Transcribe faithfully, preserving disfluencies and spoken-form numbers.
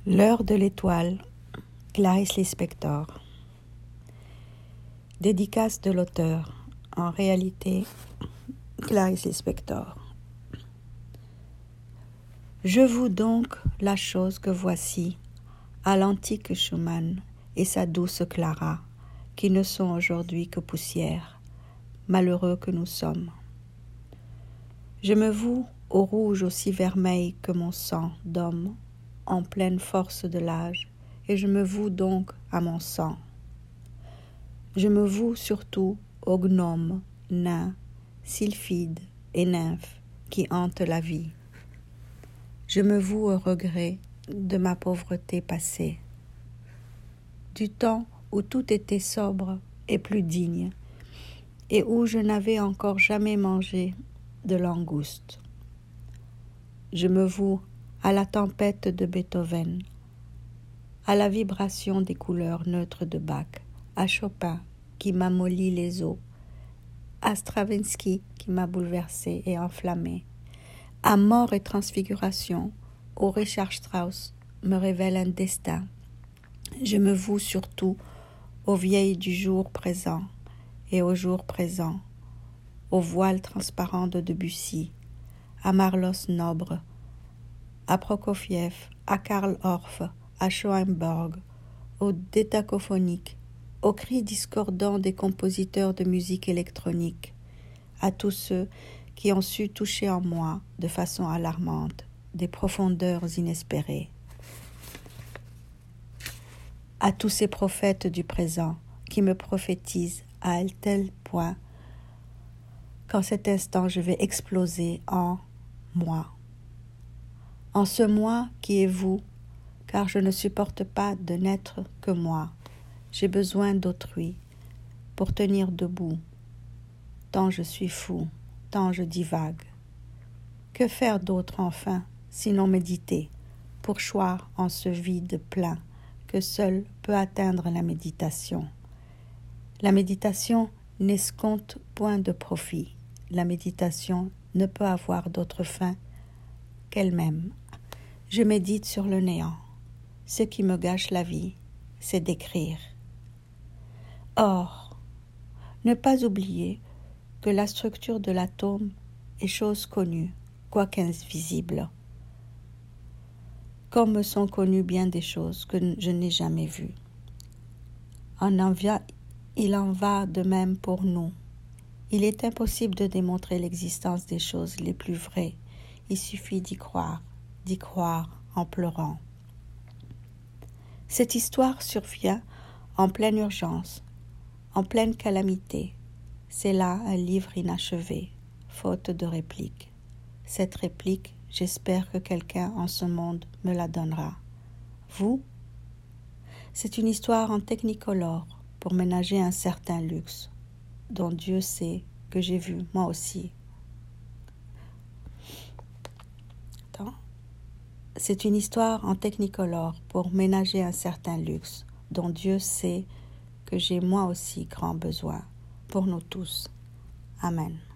L'heure de l'étoile, Clarice Lispector. Dédicace de l'auteur. En réalité, Clarice Lispector. Je voue donc la chose que voici à l'antique Schumann et sa douce Clara, qui ne sont aujourd'hui que poussière, malheureux que nous sommes. Je me voue au rouge aussi vermeil que mon sang d'homme, en pleine force de l'âge, et je me voue donc à mon sang. Je me voue surtout aux gnomes, nains, sylphides et nymphes qui hantent la vie. Je me voue au regret de ma pauvreté passée, du temps où tout était sobre et plus digne, et où je n'avais encore jamais mangé de langoustes. Je me voue à la tempête de Beethoven, à la vibration des couleurs neutres de Bach, à Chopin qui m'a molli les os, à Stravinsky qui m'a bouleversé et enflammé, à Mort et Transfiguration, où Richard Strauss me révèle un destin. Je me voue surtout aux vieilles du jour présent et au jour présent, au voile transparent de Debussy, à Marlos Nobre, à Prokofiev, à Karl Orff, à Schoenberg, au détacophonique, aux cris discordants des compositeurs de musique électronique, à tous ceux qui ont su toucher en moi, de façon alarmante, des profondeurs inespérées, à tous ces prophètes du présent qui me prophétisent à un tel point qu'en cet instant je vais exploser en moi. En ce moi qui est vous, car je ne supporte pas de n'être que moi. J'ai besoin d'autrui pour tenir debout, tant je suis fou, tant je divague. Que faire d'autre enfin, sinon méditer, pour choir en ce vide plein que seul peut atteindre la méditation. La méditation n'escompte point de profit. La méditation ne peut avoir d'autre fin qu'elle-même. Je médite sur le néant. Ce qui me gâche la vie, c'est d'écrire. Or, ne pas oublier que la structure de l'atome est chose connue, quoique invisible, comme me sont connues bien des choses que je n'ai jamais vues. En envia, il en va de même pour nous. Il est impossible de démontrer l'existence des choses les plus vraies. Il suffit d'y croire, d'y croire en pleurant. Cette histoire survient en pleine urgence, en pleine calamité. C'est là un livre inachevé, faute de réplique. Cette réplique, j'espère que quelqu'un en ce monde me la donnera. Vous? C'est une histoire en technicolore pour ménager un certain luxe, dont Dieu sait que j'ai vu moi aussi. Attends. C'est une histoire en technicolore pour ménager un certain luxe, dont Dieu sait que j'ai moi aussi grand besoin, pour nous tous. Amen.